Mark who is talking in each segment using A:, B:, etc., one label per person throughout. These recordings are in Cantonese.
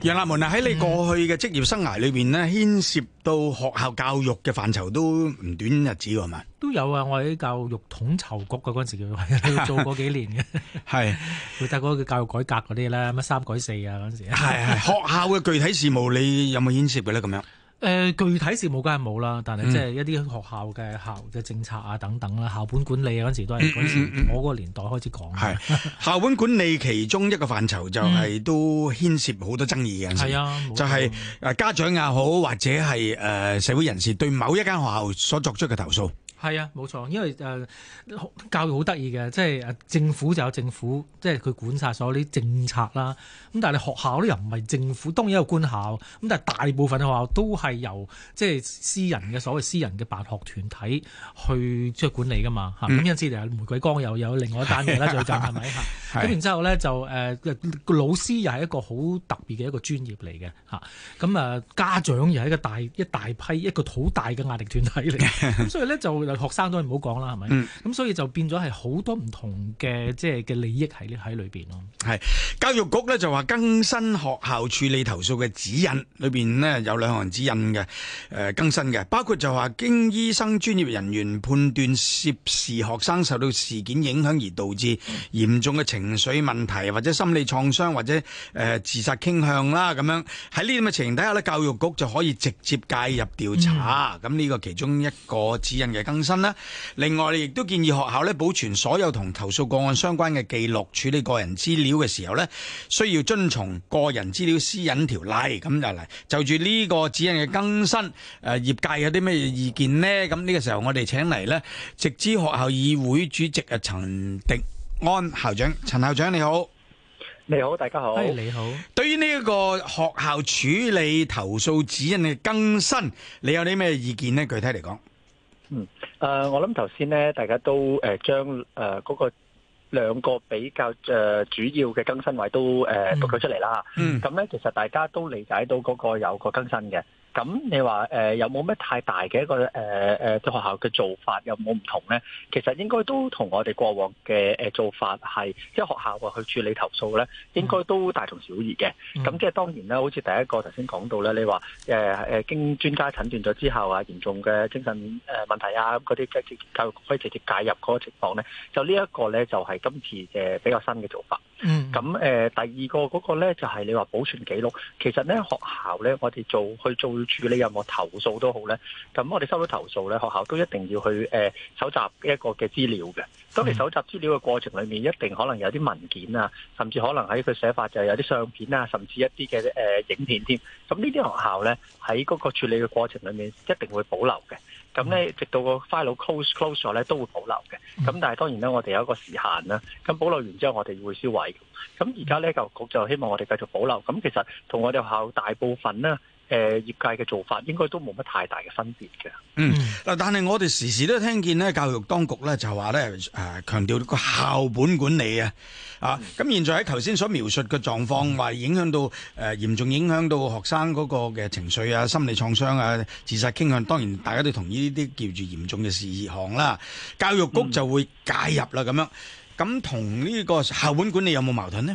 A: 楊立門啊，喺你過去嘅職業生涯裏邊咧，牽涉到學校教育嘅範疇都唔短日子㗎嘛？
B: 都有啊，我喺教育統籌局嗰陣時叫做過幾年嘅，
A: 係
B: 負責嗰個教育改革嗰啲咧，乜三改四啊嗰陣時。
A: 係學校嘅具體事務，你有冇牽涉嘅咧？咁樣？
B: 具體事務梗係冇啦，但係即係一啲學校嘅政策啊等等啦，校本管理嗰陣時都係嗰陣時我嗰個年代開始講。
A: 係校本管理其中一個範疇就係都牽涉好多爭議嘅。
B: 係啊，
A: 就係家長也好，或者係社會人士對某一間學校所作出嘅投訴。
B: 係啊，冇錯，因為教育好得意嘅，即係政府就有政府，即係佢管晒所有啲政策啦。咁但係你學校咧又唔係政府，當然有官校，咁但係大部分嘅學校都係由即係私人嘅所謂私人嘅辦學團體去即係管理噶嘛嚇。咁因此嚟玫瑰崗又有另外一單嘢啦，最近係咪嚇？咁然之後咧就個老師又係一個好特別嘅一個專業嚟嘅嚇。咁家長又係一大批一個好大嘅壓力團體嚟。咁所以咧就學生都唔好講啦，係咪？咁所以就變咗係好多唔同嘅即係嘅利益喺裏邊咯。係
A: 教育局咧就話更新學校處理投訴嘅指引，裏邊呢有兩項指引嘅更新嘅，包括就話經醫生專業人員判斷涉事學生受到事件影響而導致嚴重嘅情緒問題或者心理創傷或者自殺傾向啦，咁樣喺呢啲咁嘅情形底下咧，教育局就可以直接介入調查。咁呢個其中一個指引嘅更新啦。另外亦都建議學校咧保存所有同投訴個案相關嘅記錄，處理個人資料嘅時候咧，需要遵從個人資料私隱條例。咁就嚟就住呢個指引嘅更新，業界有啲咩意見呢？咁呢個時候我哋請嚟咧，直資學校議會主席陳迪安校長，陳校長你好。
C: 你好，大家好。
B: 你好。對
A: 於呢一個學校處理投訴指引嘅更新，你有啲咩意見呢？具體嚟講？
C: 我諗頭先咧，大家都將嗰個兩個比較主要嘅更新位都讀咗出嚟啦。咁咧，其實大家都理解到嗰個有個更新嘅。咁你話有冇咩太大嘅一個學校嘅做法有冇唔同咧？其實應該都同我哋過往嘅做法係，即係學校去處理投訴咧，應該都大同小異嘅。咁即係當然啦，好似第一個頭先講到咧，你話經專家診斷咗之後啊，嚴重嘅精神問題啊，嗰啲教育局可以直接介入嗰個情況咧，就呢一個咧就係今次嘅比較新嘅做法。咁第二個嗰個咧就係你話保存記錄，其實咧學校咧我哋去做處理任何投訴都好咧，咁我哋收到投訴咧，學校都一定要去搜集一個嘅資料嘅。當你搜集資料嘅過程裏面，一定可能有啲文件啊，甚至可能喺佢寫法就係有啲相片啊，甚至一啲嘅影片添。咁呢啲學校咧喺嗰個處理嘅過程裏面，一定會保留嘅。咁咧，直到個 file close 咗咧，都會保留嘅。咁但係當然咧，我哋有一個時限啦。咁保留完之後，我哋會銷毀。咁而家咧，教育局就希望我哋繼續保留。咁其實同我哋學校大部分咧，業界嘅做法應該都冇乜太大嘅分別嘅。
A: 但係我哋時時都聽見咧，教育當局咧就話咧強調個校本管理啊。咁現在喺頭先所描述嘅狀況，話影響到嚴重影響到學生嗰個嘅情緒啊、心理創傷啊、自殺傾向，當然大家都同意呢啲叫做嚴重嘅事項啦。教育局就會介入啦，咁樣。咁同呢個校本管理有冇矛盾呢？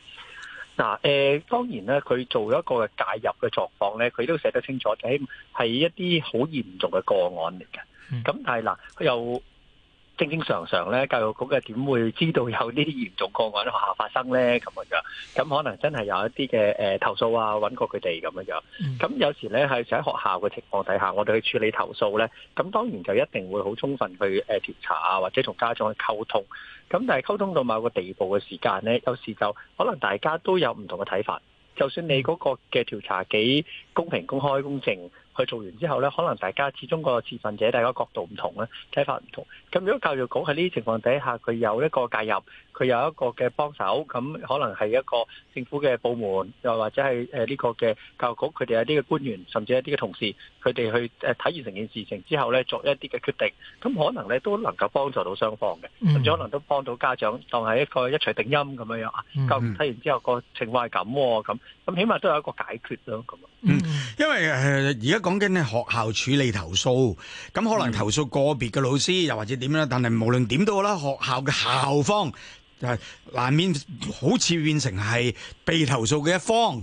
C: 當然咧，佢做一個介入嘅狀況咧，佢都寫得清楚，係一啲好嚴重嘅個案嚟嘅。咁但係佢又正常咧，教育局嘅點會知道有呢啲嚴重個案喺學校發生咧？咁可能真係有一啲嘅投訴啊，揾過佢哋咁樣。咁有時咧係喺學校嘅情況底下，我哋去處理投訴咧，咁當然就一定會好充分去調查啊，或者同家長去溝通。咁但係溝通到某個地步嘅時間咧，有時就可能大家都有唔同嘅睇法。就算你嗰個嘅調查幾公平、公開、公正，去做完之後咧，可能大家始終個持份者大家角度唔同咧，睇法唔同。咁如果教育局喺呢啲情況底下，佢有一個介入，佢有一個嘅幫手，咁可能係一個政府嘅部門，又或者係呢個嘅教育局，佢哋有啲嘅官員，甚至一啲嘅同事，佢哋去睇完成件事情之後咧，作一啲嘅決定，咁可能咧都能夠幫助到雙方嘅，甚至可能都幫到家長，當係一個一錘定音咁樣啊。教育睇完之後個情況係咁，咁起碼都有一個解決咯。咁
A: 因為而家講緊咧學校處理投訴，咁可能投訴個別嘅老師，又或者點樣，但係無論點都好啦，學校嘅校方就係難免好似變成係被投訴嘅一方。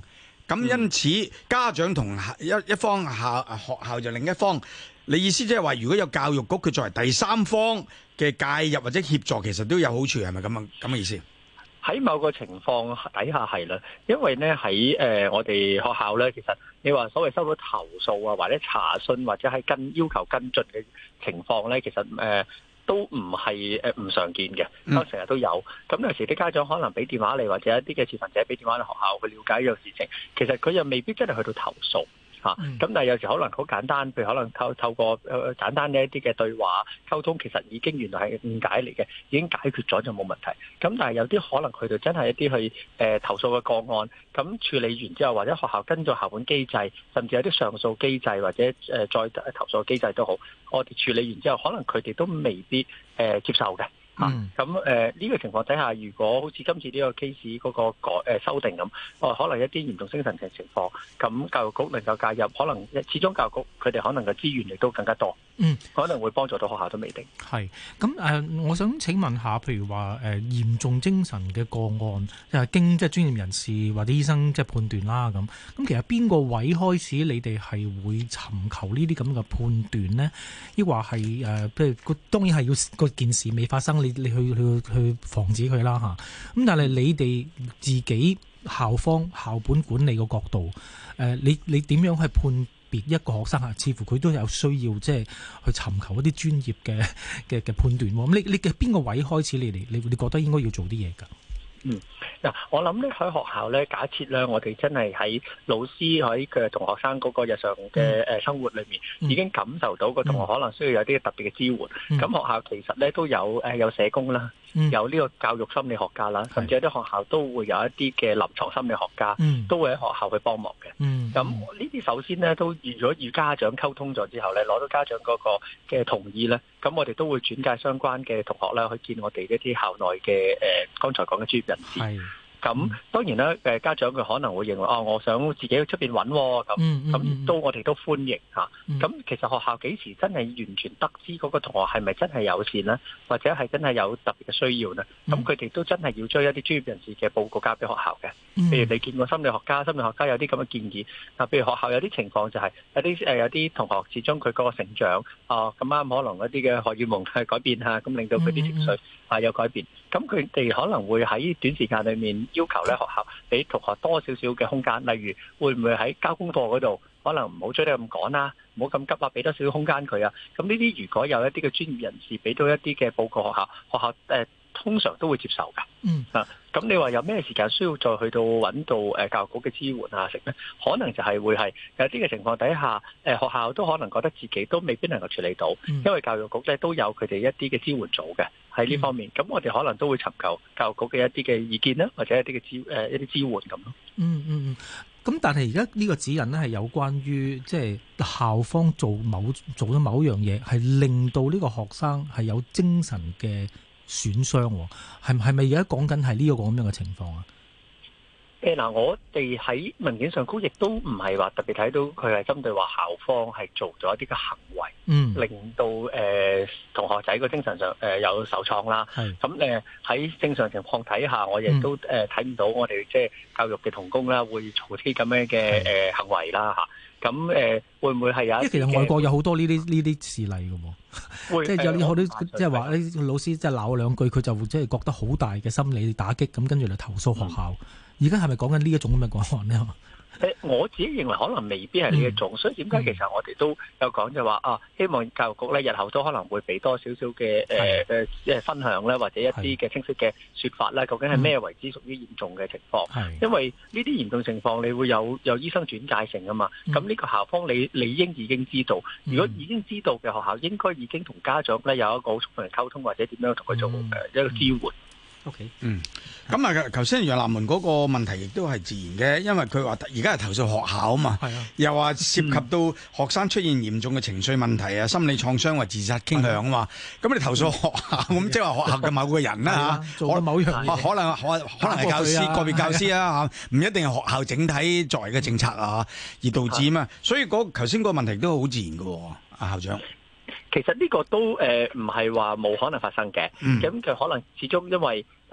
A: 咁因此家長同一方學校就另一方。你意思即係話，如果有教育局佢作為第三方嘅介入或者協助，其實都有好處，係咪咁嘅意思？
C: 喺某個情況底下係啦，因為咧喺我哋學校咧，其實你話所謂收到投訴啊，或者查詢或者係要求跟進嘅情況咧，其實都唔係唔常見嘅，都成日都有。咁有時啲家長可能俾電話你，或者一啲嘅持份者俾電話你學校去了解呢個事情，其實佢又未必真係去到投訴。咁但係有時可能好簡單，譬如可能透過簡單嘅一啲嘅對話溝通，其實已經原來係誤解嚟嘅，已經解決咗就冇問題。咁但係有啲可能佢哋真係一啲去投訴嘅個案，咁處理完之後，或者學校跟咗校本機制，甚至有啲上訴機制或者再投訴機制都好，我哋處理完之後，可能佢哋都未必接受嘅。咁呢個情況底下，如果好似今次呢個 case 嗰個修訂咁，可能一啲嚴重精神嘅情況，咁教育局能夠介入，可能始終教育局佢哋可能嘅資源亦都更加多，可能會幫助到學校都未定。
B: 係咁我想請問下，譬如話嚴重精神嘅個案，經即係專業人士或者醫生即係判斷啦咁。咁其實邊個位開始你哋係會尋求呢啲咁嘅判斷呢？抑或係譬如當然係要個件事未發生。你去防止佢啦嚇，咁但係你哋自己校方校本管理個角度，你點樣去判別一個學生啊？似乎佢都有需要即係去尋求一啲專業嘅判斷喎。咁你嘅邊個位開始你覺得應該要做啲嘢㗎？
C: 嗱，我諗咧喺學校咧，假設咧我哋真係喺老師喺佢同學生嗰個日常嘅生活裏面，已經感受到個同學可能需要有啲特別嘅支援。咁學校其實咧都有社工啦，有呢個教育心理學家啦，甚至有啲學校都會有一啲嘅臨床心理學家，都會喺學校去幫忙嘅。咁呢啲首先咧都如果與家長溝通咗之後咧，攞到家長嗰個嘅同意咧，咁我哋都會轉介相關嘅同學咧去見我哋一啲校內嘅剛才講嘅專業人士。咁當然啦，家長佢可能會認為我想自己去出邊揾咁我哋都歡迎嚇。咁其實學校幾時真係完全得知嗰個同學係咪真係有事呢？或者係真係有特別嘅需要呢？咁佢哋都真係要將一啲專業人士嘅報告交俾學校嘅。譬如你見過心理學家有啲咁嘅建議。嗱，譬如學校有啲情況就係有啲同學始終佢嗰個成長咁啱可能一啲嘅荷爾蒙係改變嚇，咁令到佢啲情緒有改變。咁佢哋可能會喺短時間裏面要求咧學校俾同學多少少嘅空間，例如會唔會喺交功課嗰度可能唔好追得咁趕啦，唔好咁急啊，俾多少少空間佢啊。咁呢啲如果有一啲嘅專業人士俾到一啲嘅報告學校通常都會接受㗎。咁你話有咩時間需要再去到揾到教育局嘅支援啊？成咧，可能就係會係有啲嘅情況底下，學校都可能覺得自己都未必能夠處理到，因為教育局咧都有佢哋一啲嘅支援組嘅喺呢方面。咁我哋可能都會尋求教育局嘅一啲嘅意見啦，或者一啲嘅一啲支援咁咯。
B: 咁但係而家呢個指引咧係有關於即係校方做咗某樣嘢，係令到呢個學生係有精神嘅損傷，係咪而家講緊係呢個咁樣嘅情況啊？
C: 我哋喺文件上高亦都唔係話特別睇到佢係針對話校方係做咗一啲嘅行為，令到同學仔個精神上有受創啦。咁喺正常情況底下，我亦都睇唔到我哋即係教育嘅同工啦，會做啲咁樣嘅行為啦嚇。咁會唔會係有一啲？
B: 其實外國有好多呢啲事例嘅喎，即係有啲好多即係話啲老師即係鬧兩句，佢就會即係覺得好大嘅心理打擊，咁跟住嚟投訴學校。而家係咪講緊呢一種咁嘅個案呢？
C: 我自己認為可能未必係呢一種，所以點解其實我哋都有講就話希望教育局咧日後都可能會俾多少少嘅分享咧，或者一啲嘅清晰嘅說法咧，究竟係咩為之屬於嚴重嘅情況？因為呢啲嚴重情況，你會有醫生轉介性啊嘛。咁呢個校方你理應已經知道，如果已經知道嘅學校，應該已經同家長咧有一個好充分嘅溝通，或者點樣同佢做一個支援。
B: OK，
A: 咁啊，頭先楊立門嗰個問題亦都係自然嘅，因為佢話而家係投訴學校啊嘛，又話涉及到學生出現嚴重嘅情緒問題啊、心理創傷或自殺傾向啊嘛，咁你投訴學校，咁即係話學校嘅某個人啦嚇，
B: 做某樣嘢，
A: 可能係教師個別教師啊嚇，唔一定係學校整體作為嘅政策啊，而導致啊嘛，所以頭先個問題都好自然嘅喎，阿校長。
C: 其實呢個都唔係話冇可能發生嘅，咁佢可能始終因為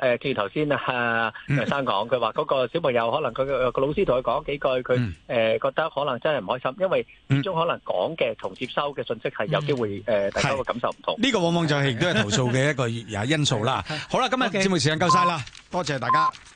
C: 正如頭先楊生講，佢話嗰個小朋友可能佢個老師同佢講幾句，佢覺得可能真係唔開心，因為始終可能講嘅同接收嘅信息係有機會大家個感受唔同。
A: 呢個往往就係亦都係投訴嘅一個因素啦。好啦，今日節目時間夠晒啦，多謝大家。